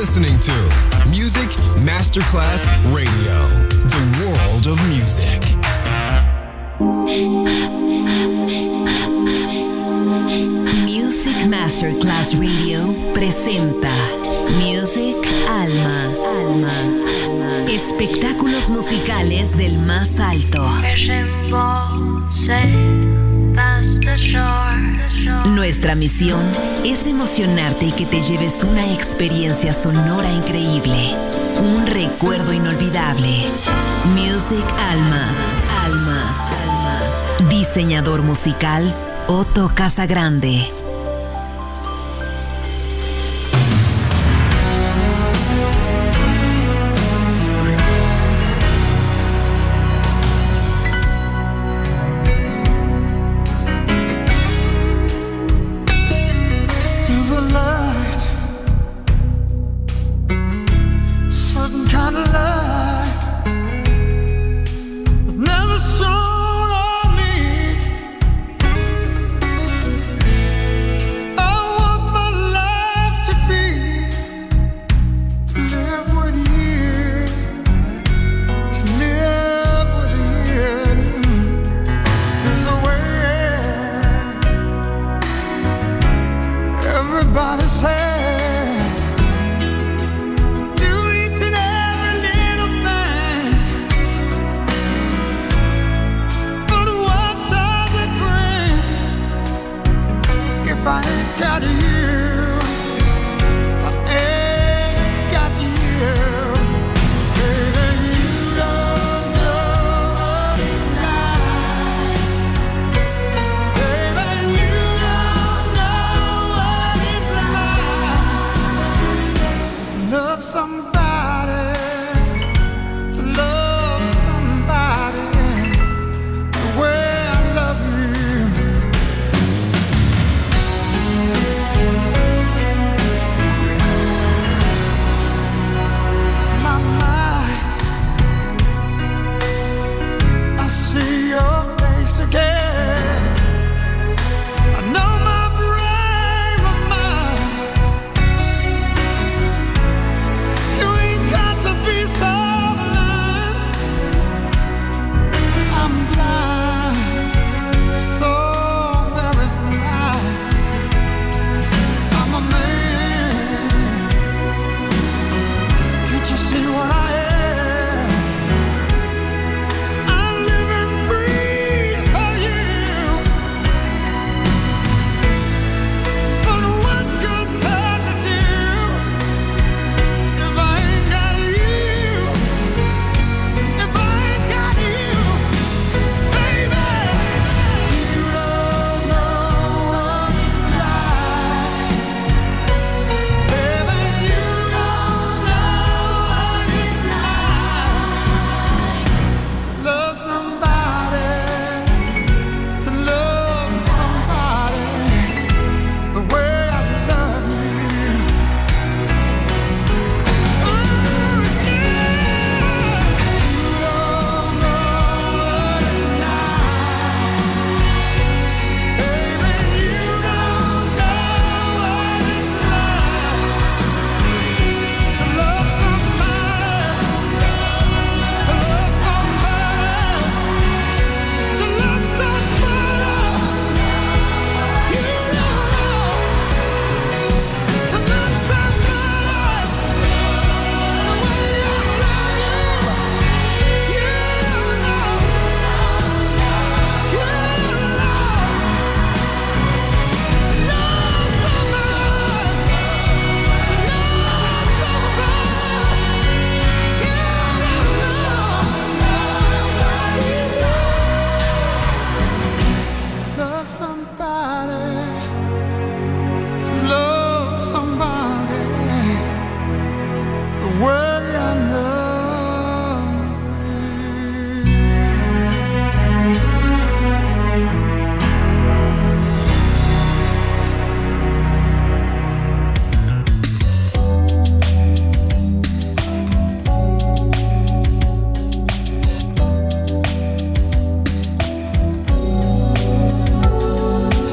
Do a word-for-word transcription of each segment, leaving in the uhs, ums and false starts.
listening to Music Masterclass Radio, the world of music. Music Masterclass Radio presenta Music Alma, Alma, espectáculos musicales del más alto. Nuestra misión es emocionarte y que te lleves una experiencia sonora increíble, un recuerdo inolvidable. Music Alma, Alma, Alma. Diseñador musical Otto Casagrande.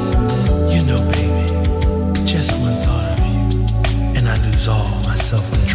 Myself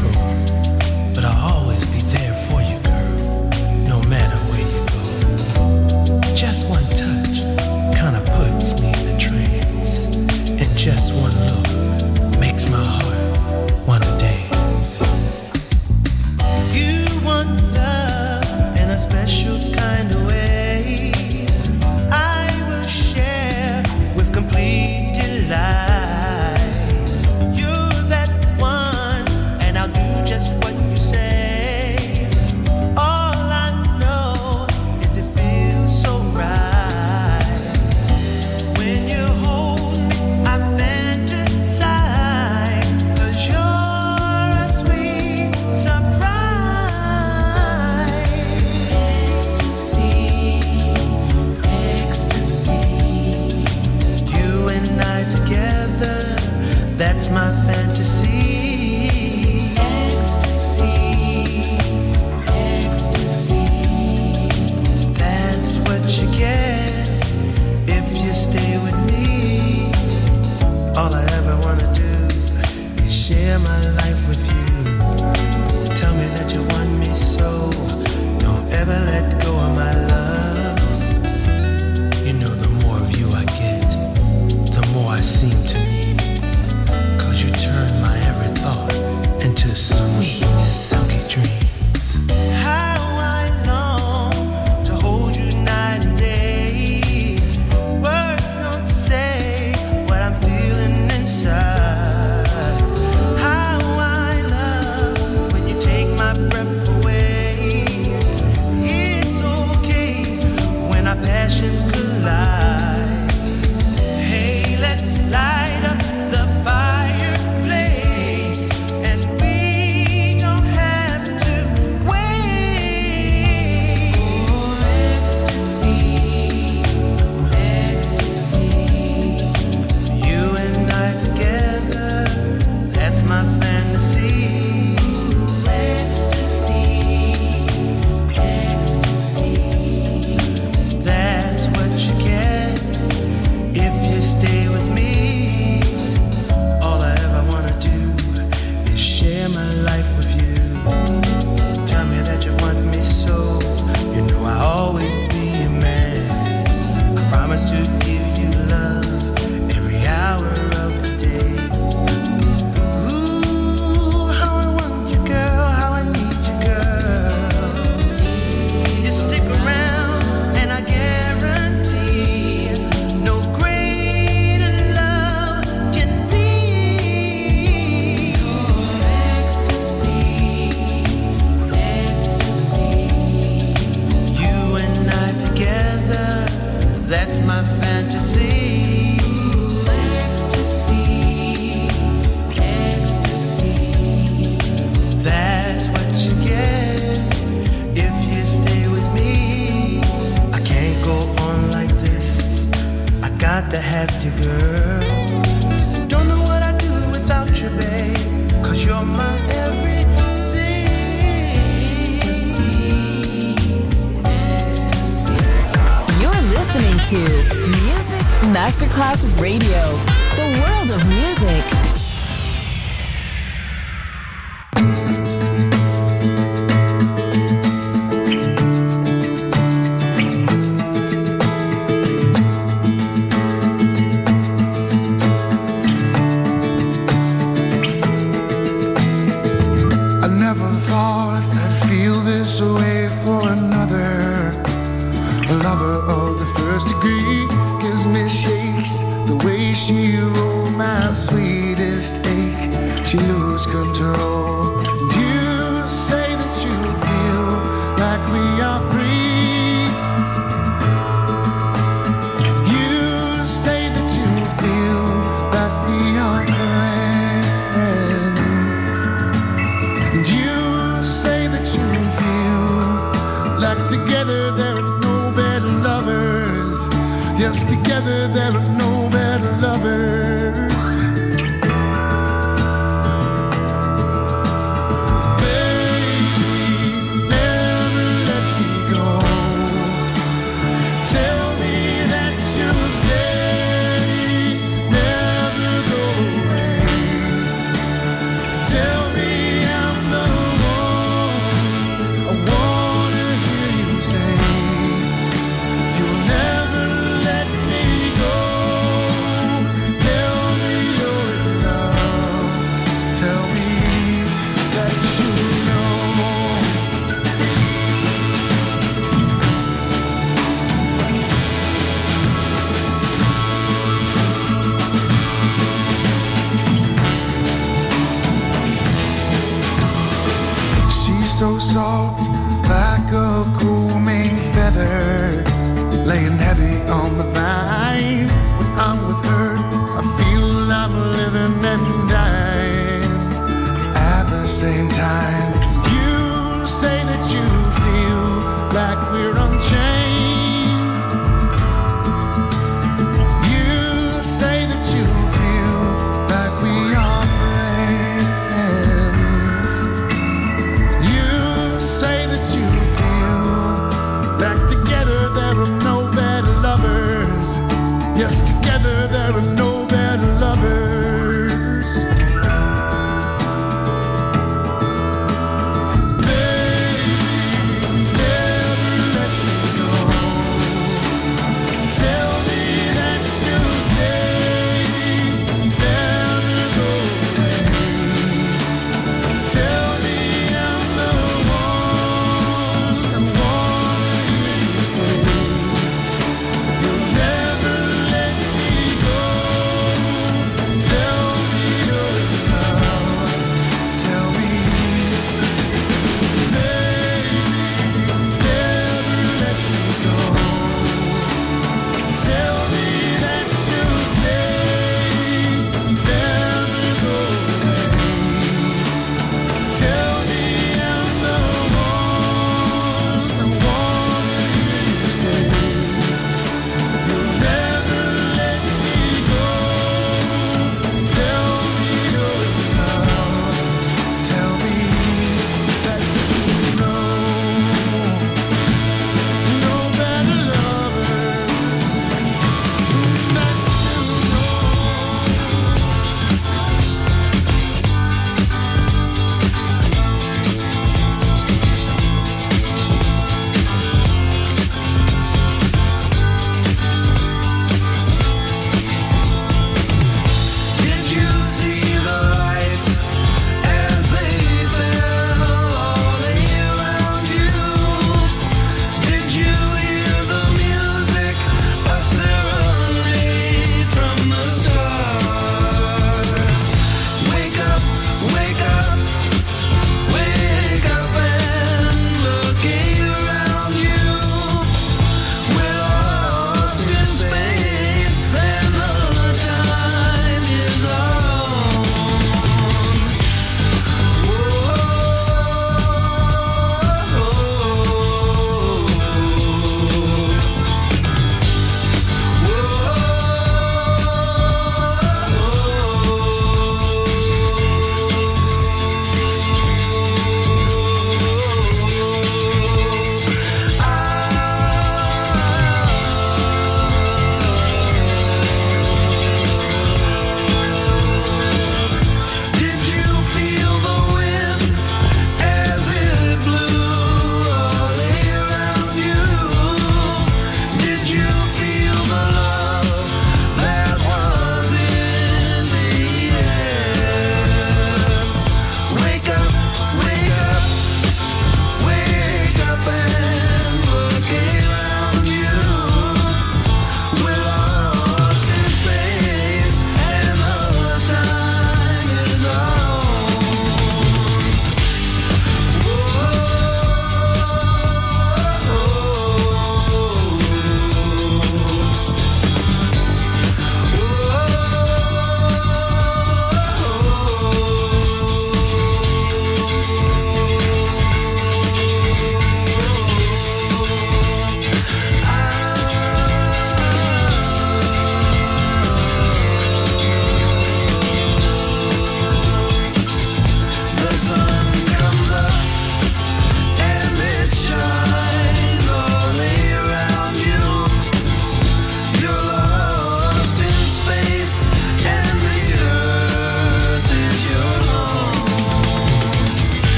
share my life with you. Tell me that you want me so. Don't ever let go of my love. You know the more of you I get, the more I seem to need. Cause you turn my every thought into sweet, silky dreams. How I long to hold you night and day. Words don't say what I'm feeling inside. How I love when you take my breath away. It's okay when our passions collide. Hey, let's light up the fireplace, and we don't have to wait. For ecstasy, ecstasy. You and I together, that's my fantasy. Ecstasy, ecstasy. That's what you get if you stay with me. All I ever wanna do is share my life with you. Tell me that you want me so. You know I'll always be your man. I promise to give you love every hour of the day. Ooh, how I want you, girl, how I need you, girl. You stick around and I guarantee no greater love can be. Ecstasy, ecstasy. You and I together, that's my fantasy. Ecstasy, ecstasy. That's what you get if you stay with me. I can't go on like this. I got to have you, girl. Don't know what I'd do without you, babe. Cause you're my everything. Ecstasy, ecstasy. You're listening to Music Masterclass Radio, the world of music. I never thought I'd feel this way for another. A lover of the first degree gives me shakes. The way she rolled my sweetest ache, she lose control. You say that you feel like we are free. You say that you feel like we are friends. And you say that you feel like together there are no better lovers. Yes, together there are no better lovers. Baby, never let me go. Tell me that you'll stay, never go away. Tell me I'm the one. I wanna hear you say you'll never let me go. Tell me you're in love. Tell me that you know. She's so soft, like a cool Maine feather, laying heavy on the vine. When I'm with her, I feel I'm living and dying at the same time. You say that you feel like we're unchained. You say that you feel like we are friends. You say that you feel like together there are no better lovers. Yes, together there are no better lovers.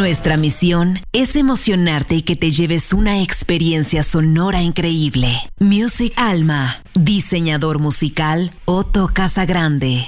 Nuestra misión es emocionarte y que te lleves una experiencia sonora increíble. Music Alma, diseñador musical Otto Casagrande.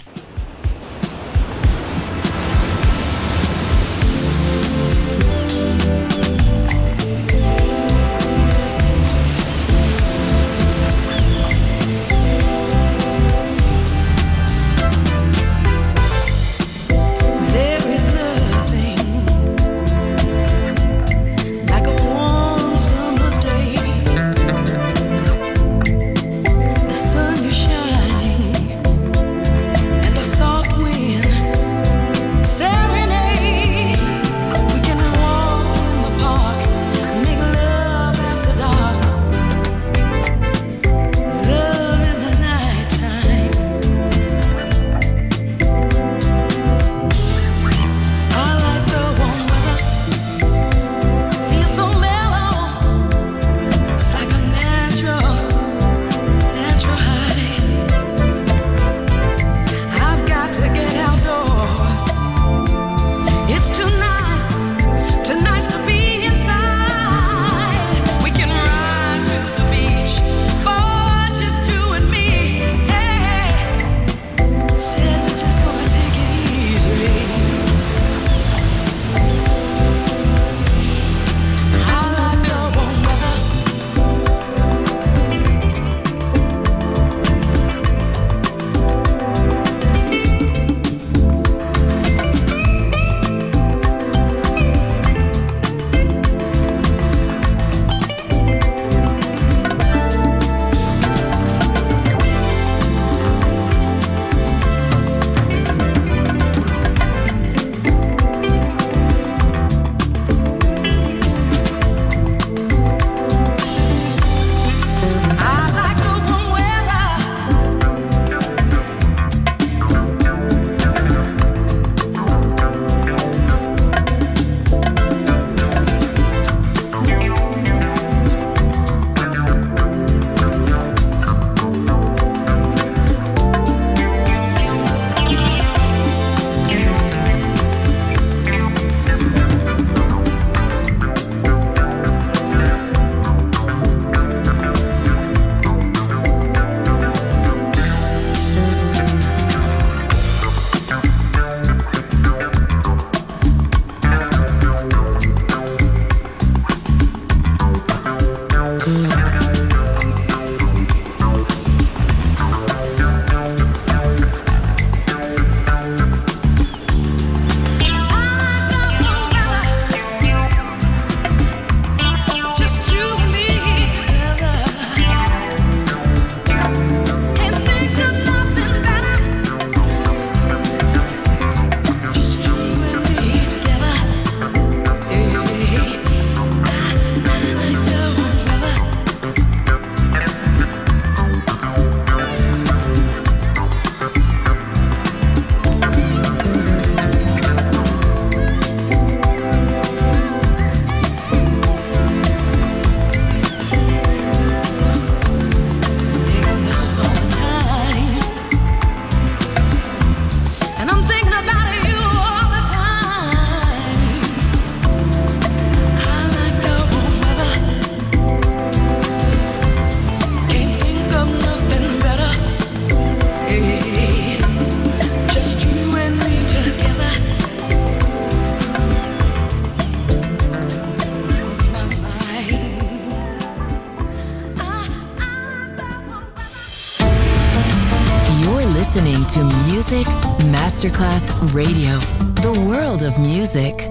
listening to Music Masterclass Radio, the world of music.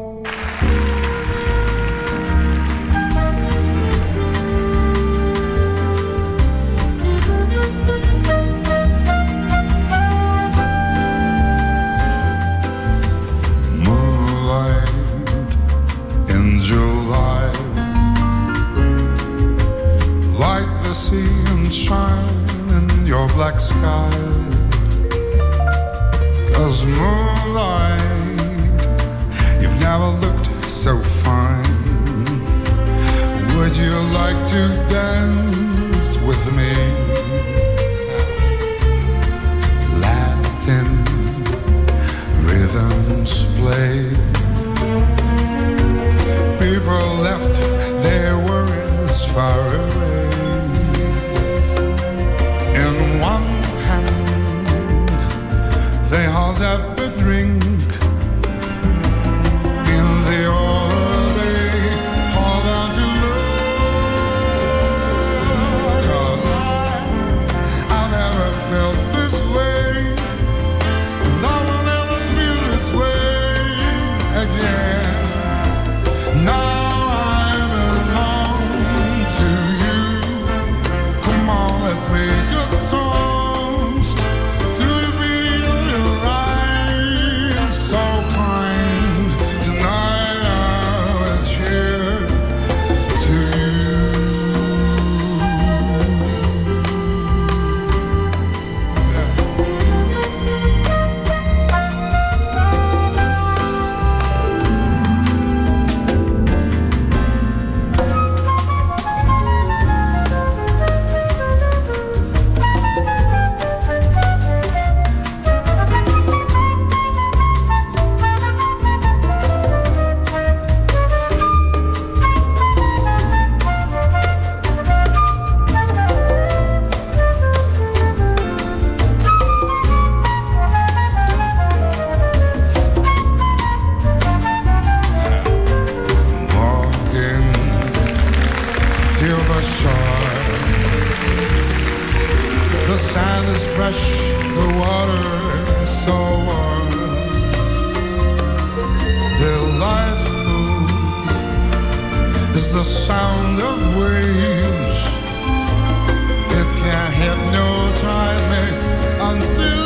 Moonlight in July, like the sea and shine in your black sky. 'Cause moonlight, you've never looked so fine. Would you like to dance with me? Latin rhythms play. land is fresh, the water is so warm. Delightful is the sound of waves. It can hypnotize me until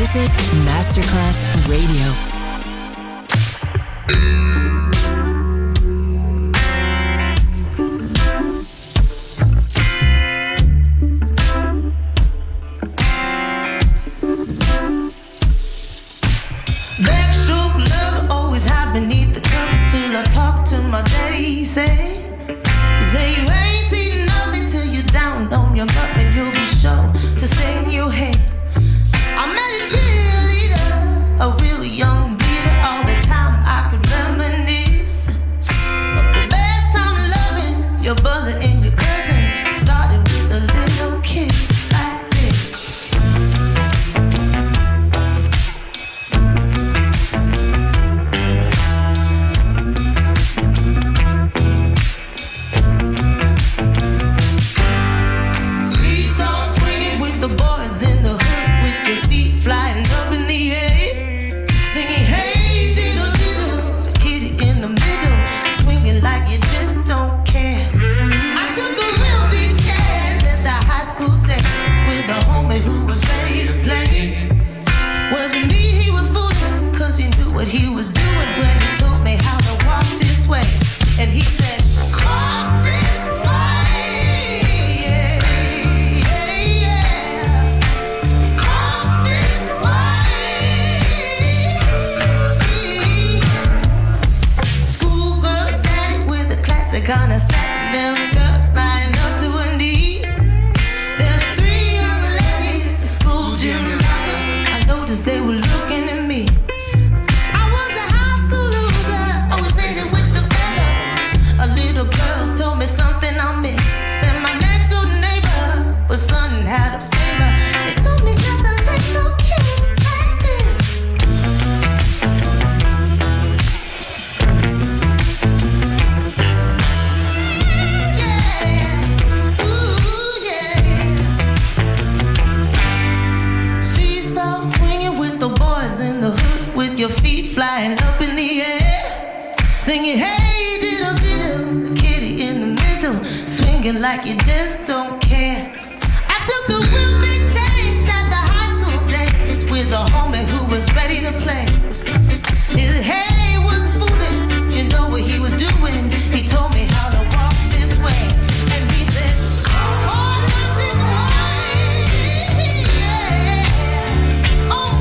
Music Masterclass Radio. Beneath the covers till I talk to my daddy. He say, he say you ain't seen nothing till you down on your muff and you'll be sure to stay in your head. I met a cheerleader, a real young beater. All the time I could reminisce, but the best time loving your brother and your cousin started with a little kiss like this. Kind of sassy little skirt lying up to her knees. There's three young ladies, the school gym locker. I noticed they were looking at me. I was a high school loser, always made it with the fellows. A little girl told me something I missed. Then my next door neighbor was son and had a favor. They told me just a little kiss like this. In the hood with your feet flying up in the air, singing hey diddle diddle, the kitty in the middle, swinging like you just don't care. I took a real big chance at the high school days with a homie who was ready to play. His hey was fooling, you know what he was doing. He told me how to walk this way, and he said, oh, what's this way? Yeah. Oh,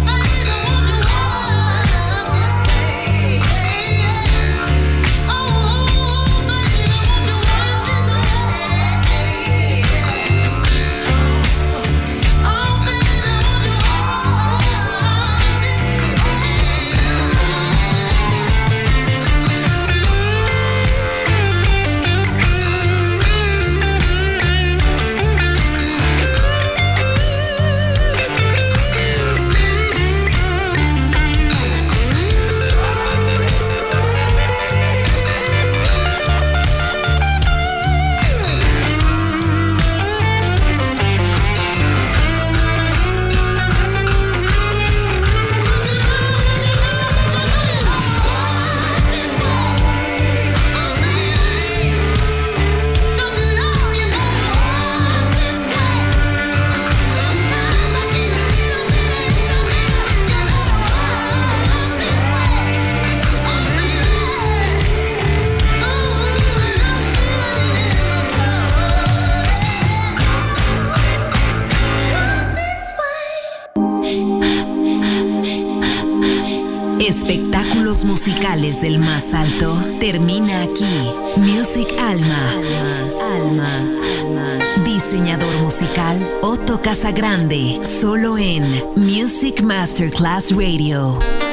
Espectáculos musicales del más alto termina aquí. Music Alma. Alma. Alma. Diseñador musical Otto Casagrande. Solo en Music Masterclass Radio.